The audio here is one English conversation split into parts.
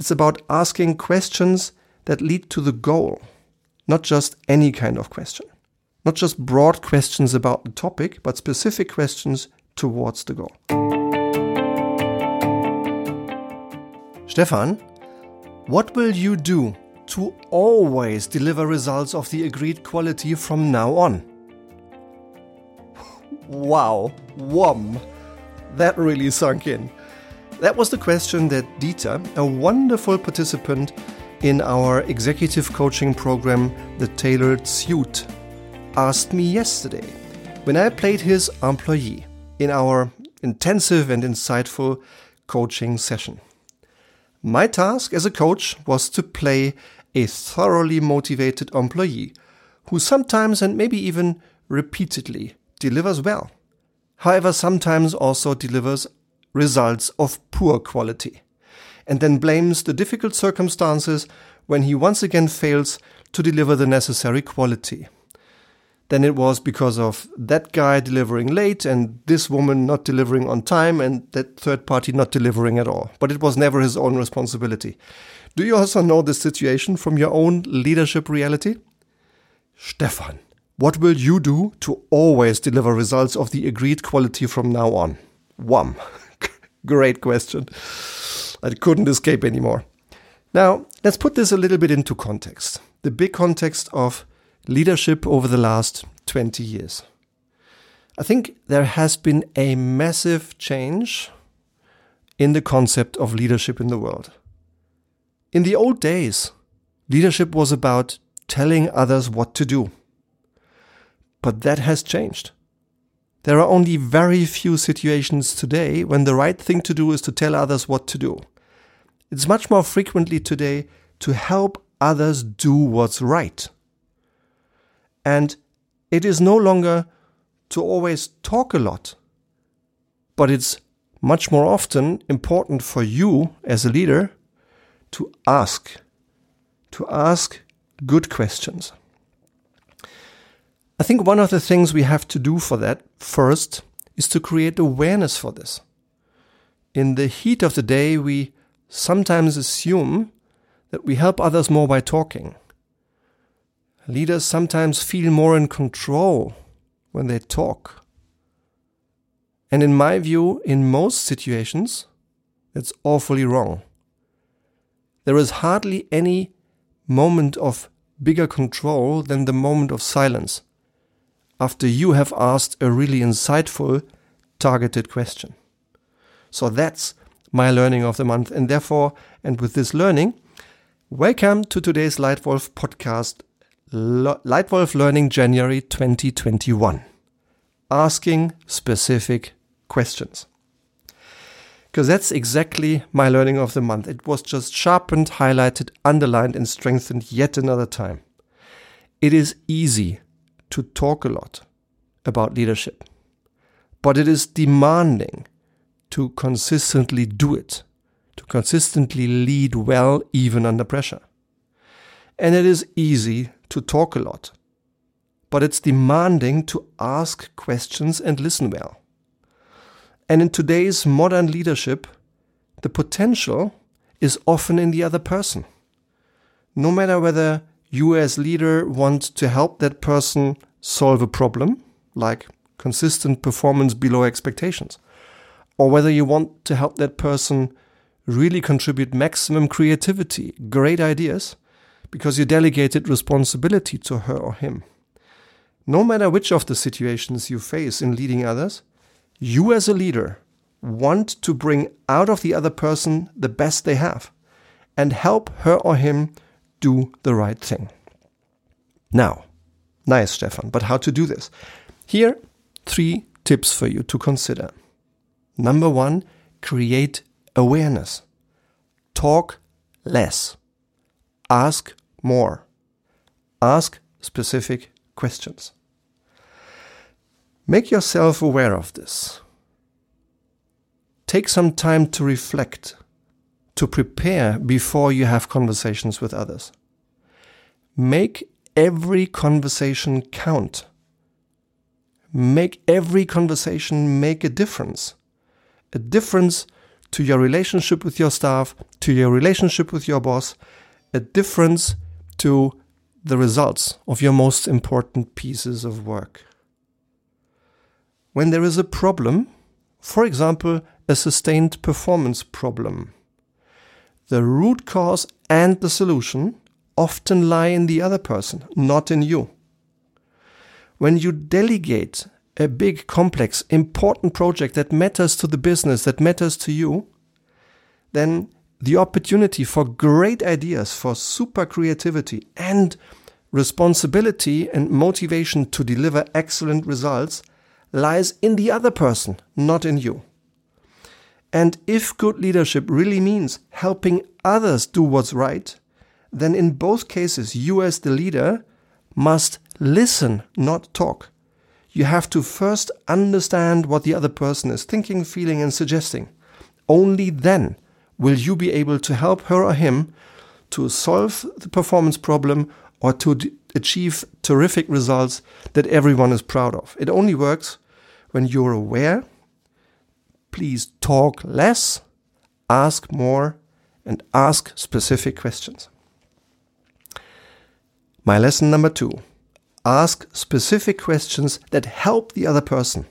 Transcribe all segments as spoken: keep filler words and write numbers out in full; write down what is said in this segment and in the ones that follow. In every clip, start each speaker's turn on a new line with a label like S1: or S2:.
S1: It's about asking questions that lead to the goal, not just any kind of question. Not just broad questions about the topic, but specific questions towards the goal. Stefan, what will you do to always deliver results of the agreed quality from now on? Wow, whom, that really sunk in. That was the question that Dieter, a wonderful participant in our executive coaching program, The Tailored Suit, asked me yesterday when I played his employee in our intensive and insightful coaching session. My task as a coach was to play a thoroughly motivated employee who sometimes and maybe even repeatedly delivers well, however sometimes also delivers results of poor quality, and then blames the difficult circumstances when he once again fails to deliver the necessary quality. Then it was because of that guy delivering late and this woman not delivering on time and that third party not delivering at all. But it was never his own responsibility. Do you also know this situation from your own leadership reality? Stefan, what will you do to always deliver results of the agreed quality from now on? Wham. Great question. I couldn't escape anymore. Now, let's put this a little bit into context. The big context of leadership over the last twenty years. I think there has been a massive change in the concept of leadership in the world. In the old days, leadership was about telling others what to do. But that has changed. There are only very few situations today when the right thing to do is to tell others what to do. It's much more frequently today to help others do what's right. And it is no longer to always talk a lot, but it's much more often important for you as a leader to ask, to ask good questions. I think one of the things we have to do for that first is to create awareness for this. In the heat of the day, we sometimes assume that we help others more by talking. Leaders sometimes feel more in control when they talk. And in my view, in most situations, that's awfully wrong. There is hardly any moment of bigger control than the moment of silence, after you have asked a really insightful, targeted question. So that's my learning of the month. And therefore, and with this learning, welcome to today's Lightwolf podcast, Lightwolf Learning January twenty twenty-one. Asking specific questions. Because that's exactly my learning of the month. It was just sharpened, highlighted, underlined, and strengthened yet another time. It is easy to talk a lot about leadership, but it is demanding to consistently do it, to consistently lead well even under pressure. And it is easy to talk a lot, but it's demanding to ask questions and listen well. And in today's modern leadership, the potential is often in the other person. No matter whether you as leader want to help that person solve a problem, like consistent performance below expectations, or whether you want to help that person really contribute maximum creativity, great ideas, because you delegated responsibility to her or him. No matter which of the situations you face in leading others, you as a leader want to bring out of the other person the best they have and help her or him do the right thing. Now, nice, Stefan, but how to do this? Here, three tips for you to consider. Number one, create awareness. Talk less. Ask more. Ask specific questions. Make yourself aware of this. Take some time to reflect, to prepare before you have conversations with others. Make every conversation count. Make every conversation make a difference. A difference to your relationship with your staff, to your relationship with your boss, a difference to the results of your most important pieces of work. When there is a problem, for example, a sustained performance problem, the root cause and the solution often lie in the other person, not in you. When you delegate a big, complex, important project that matters to the business, that matters to you, then the opportunity for great ideas, for super creativity and responsibility and motivation to deliver excellent results lies in the other person, not in you. And if good leadership really means helping others do what's right, then in both cases, you as the leader must listen, not talk. You have to first understand what the other person is thinking, feeling, and suggesting. Only then will you be able to help her or him to solve the performance problem or to d- achieve terrific results that everyone is proud of. It only works when you're aware. Please talk less, ask more, and ask specific questions. My lesson number two. Ask specific questions that help the other person.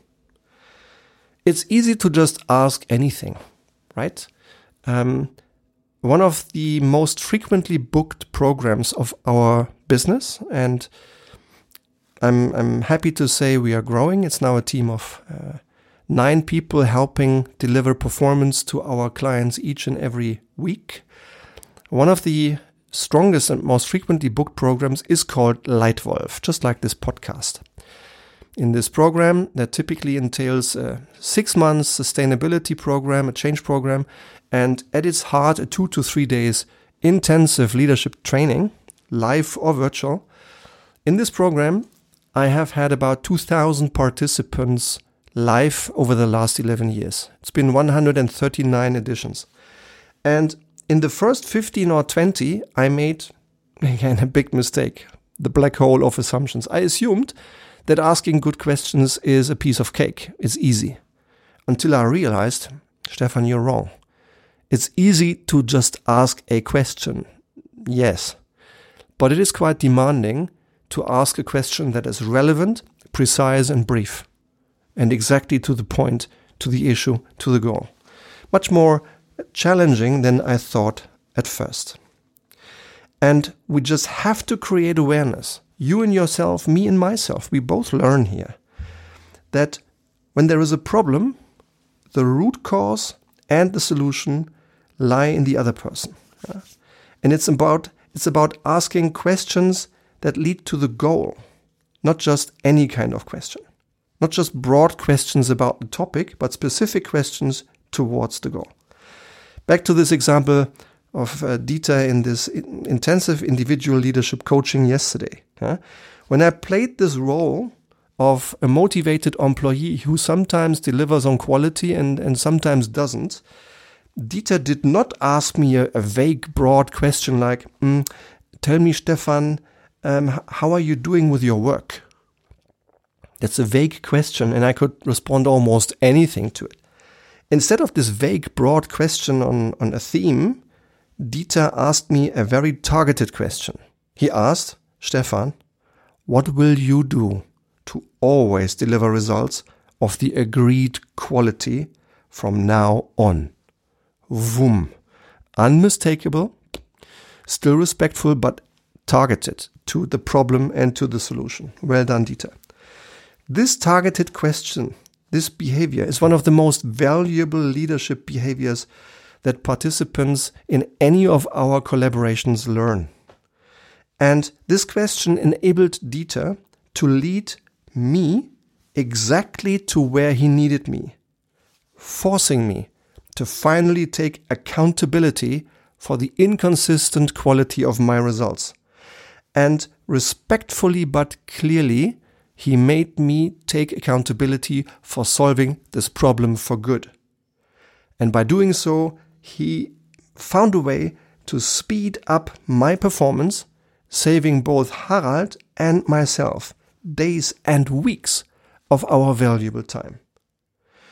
S1: It's easy to just ask anything, right? Um, one of the most frequently booked programs of our business, and I'm I'm happy to say we are growing. It's now a team of uh, nine people helping deliver performance to our clients each and every week. One of the strongest and most frequently booked programs is called Leitwolf, just like this podcast. In this program, that typically entails a six months sustainability program, a change program, and at its heart, a two to three days intensive leadership training, live or virtual. In this program, I have had about two thousand participants live over the last eleven years. It's been one hundred thirty-nine editions. And in the first fifteen or twenty, I made, again, a big mistake, the black hole of assumptions. I assumed that asking good questions is a piece of cake. It's easy. Until I realized, Stefan, you're wrong. It's easy to just ask a question, yes. But it is quite demanding to ask a question that is relevant, precise, and brief. And exactly to the point, to the issue, to the goal. Much more challenging than I thought at first. And we just have to create awareness. You and yourself, me and myself, we both learn here that when there is a problem, the root cause and the solution lie in the other person. Yeah? And it's about it's about asking questions that lead to the goal, not just any kind of question. Not just broad questions about the topic, but specific questions towards the goal. Back to this example of uh, Dieter in this in- intensive individual leadership coaching yesterday. Yeah? When I played this role of a motivated employee who sometimes delivers on quality and, and sometimes doesn't, Dieter did not ask me a, a vague, broad question like, mm, tell me, Stefan, um, how are you doing with your work? That's a vague question, and I could respond almost anything to it. Instead of this vague, broad question on, on a theme, Dieter asked me a very targeted question. He asked, Stefan, what will you do to always deliver results of the agreed quality from now on? Vroom. Unmistakable, still respectful, but targeted to the problem and to the solution. Well done, Dieter. This targeted question, this behavior is one of the most valuable leadership behaviors that participants in any of our collaborations learn. And this question enabled Dieter to lead me exactly to where he needed me, forcing me to finally take accountability for the inconsistent quality of my results. And respectfully but clearly, he made me take accountability for solving this problem for good. And by doing so, he found a way to speed up my performance, saving both Harald and myself days and weeks of our valuable time.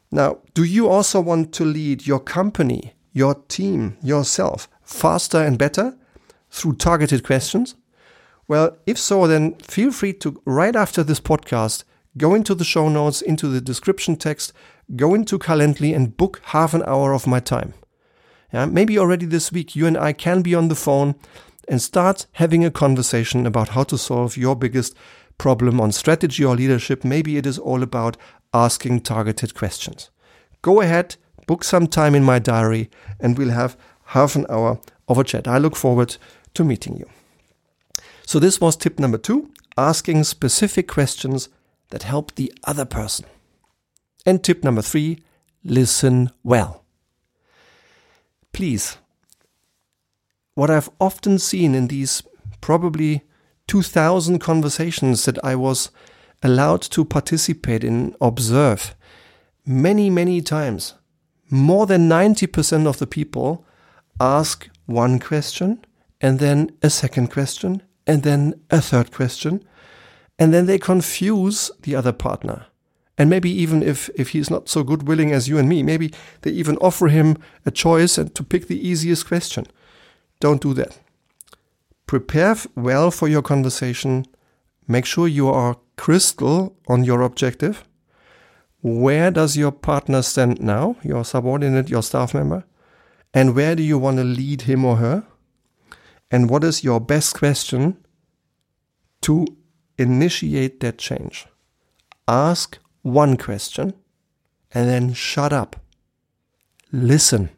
S1: Now, do you also want to lead your company, your team, yourself faster and better through targeted questions? Well, if so, then feel free to, right after this podcast, go into the show notes, into the description text, go into Calendly and book half an hour of my time. Yeah, maybe already this week you and I can be on the phone and start having a conversation about how to solve your biggest problem on strategy or leadership. Maybe it is all about asking targeted questions. Go ahead, book some time in my diary, and we'll have half an hour of a chat. I look forward to meeting you. So this was tip number two, asking specific questions that help the other person. And tip number three, listen well. Please, what I've often seen in these probably two thousand conversations that I was allowed to participate in, observe, many, many times, more than ninety percent of the people ask one question and then a second question and then a third question, and then they confuse the other partner. And maybe even if, if he's not so good willing as you and me, maybe they even offer him a choice and to pick the easiest question. Don't do that. Prepare well for your conversation. Make sure you are crystal on your objective. Where does your partner stand now, your subordinate, your staff member? And where do you want to lead him or her? And what is your best question to initiate that change? Ask one question and then shut up. Listen.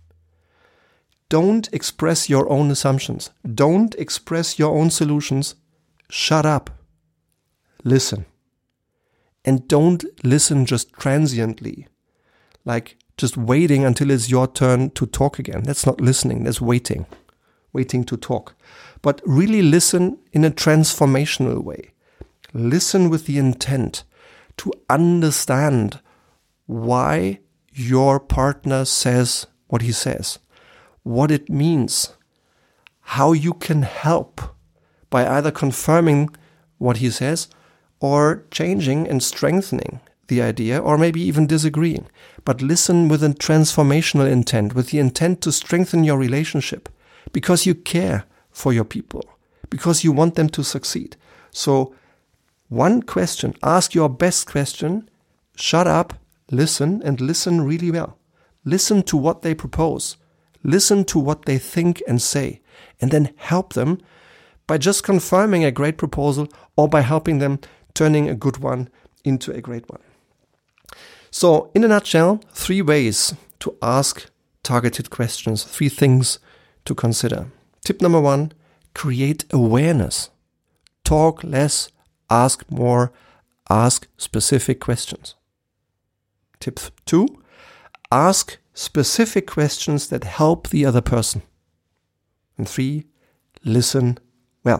S1: Don't express your own assumptions. Don't express your own solutions. Shut up. Listen. And don't listen just transiently, like just waiting until it's your turn to talk again. That's not listening, that's waiting, waiting to talk. But really listen in a transformational way. Listen with the intent to understand why your partner says what he says, what it means, how you can help by either confirming what he says or changing and strengthening the idea, or maybe even disagreeing. But listen with a transformational intent, with the intent to strengthen your relationship, because you care for your people, because you want them to succeed. So one question, ask your best question, shut up, listen, and listen really well. Listen to what they propose. Listen to what they think and say, and then help them by just confirming a great proposal or by helping them turning a good one into a great one. So, in a nutshell, three ways to ask targeted questions, three things to consider. Tip number one, create awareness. Talk less, ask more, ask specific questions. Tip two, ask specific questions that help the other person. And three, listen well.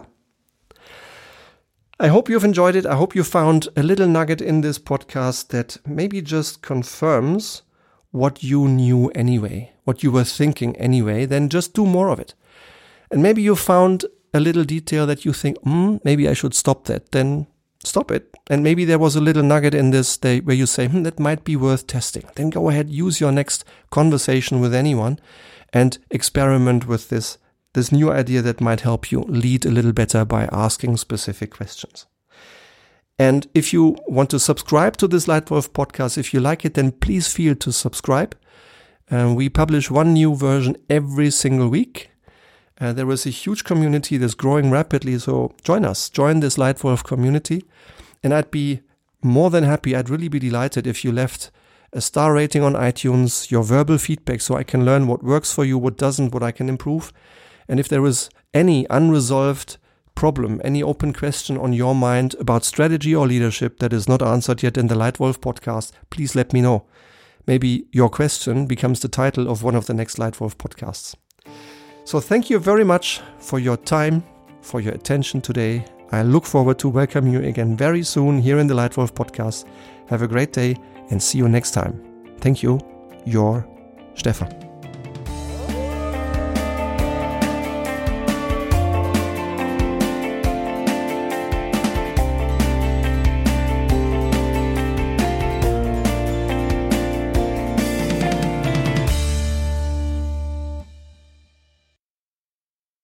S1: I hope you've enjoyed it. I hope you found a little nugget in this podcast that maybe just confirms what you knew anyway, what you were thinking anyway. Then just do more of it. And maybe you found a little detail that you think, hmm, maybe I should stop that. Then stop it. And maybe there was a little nugget in this day where you say, hmm, that might be worth testing. Then go ahead, use your next conversation with anyone and experiment with this This new idea that might help you lead a little better by asking specific questions. And if you want to subscribe to this Lightwolf podcast, if you like it, then please feel to subscribe. Uh, we publish one new version every single week. Uh, there is a huge community that's growing rapidly, so join us. Join this Lightwolf community. And I'd be more than happy, I'd really be delighted if you left a star rating on iTunes, your verbal feedback, so I can learn what works for you, what doesn't, what I can improve. And if there is any unresolved problem, any open question on your mind about strategy or leadership that is not answered yet in the Lightwolf podcast, please let me know. Maybe your question becomes the title of one of the next Lightwolf podcasts. So thank you very much for your time, for your attention today. I look forward to welcome you again very soon here in the Lightwolf podcast. Have a great day and see you next time. Thank you, your Stefan.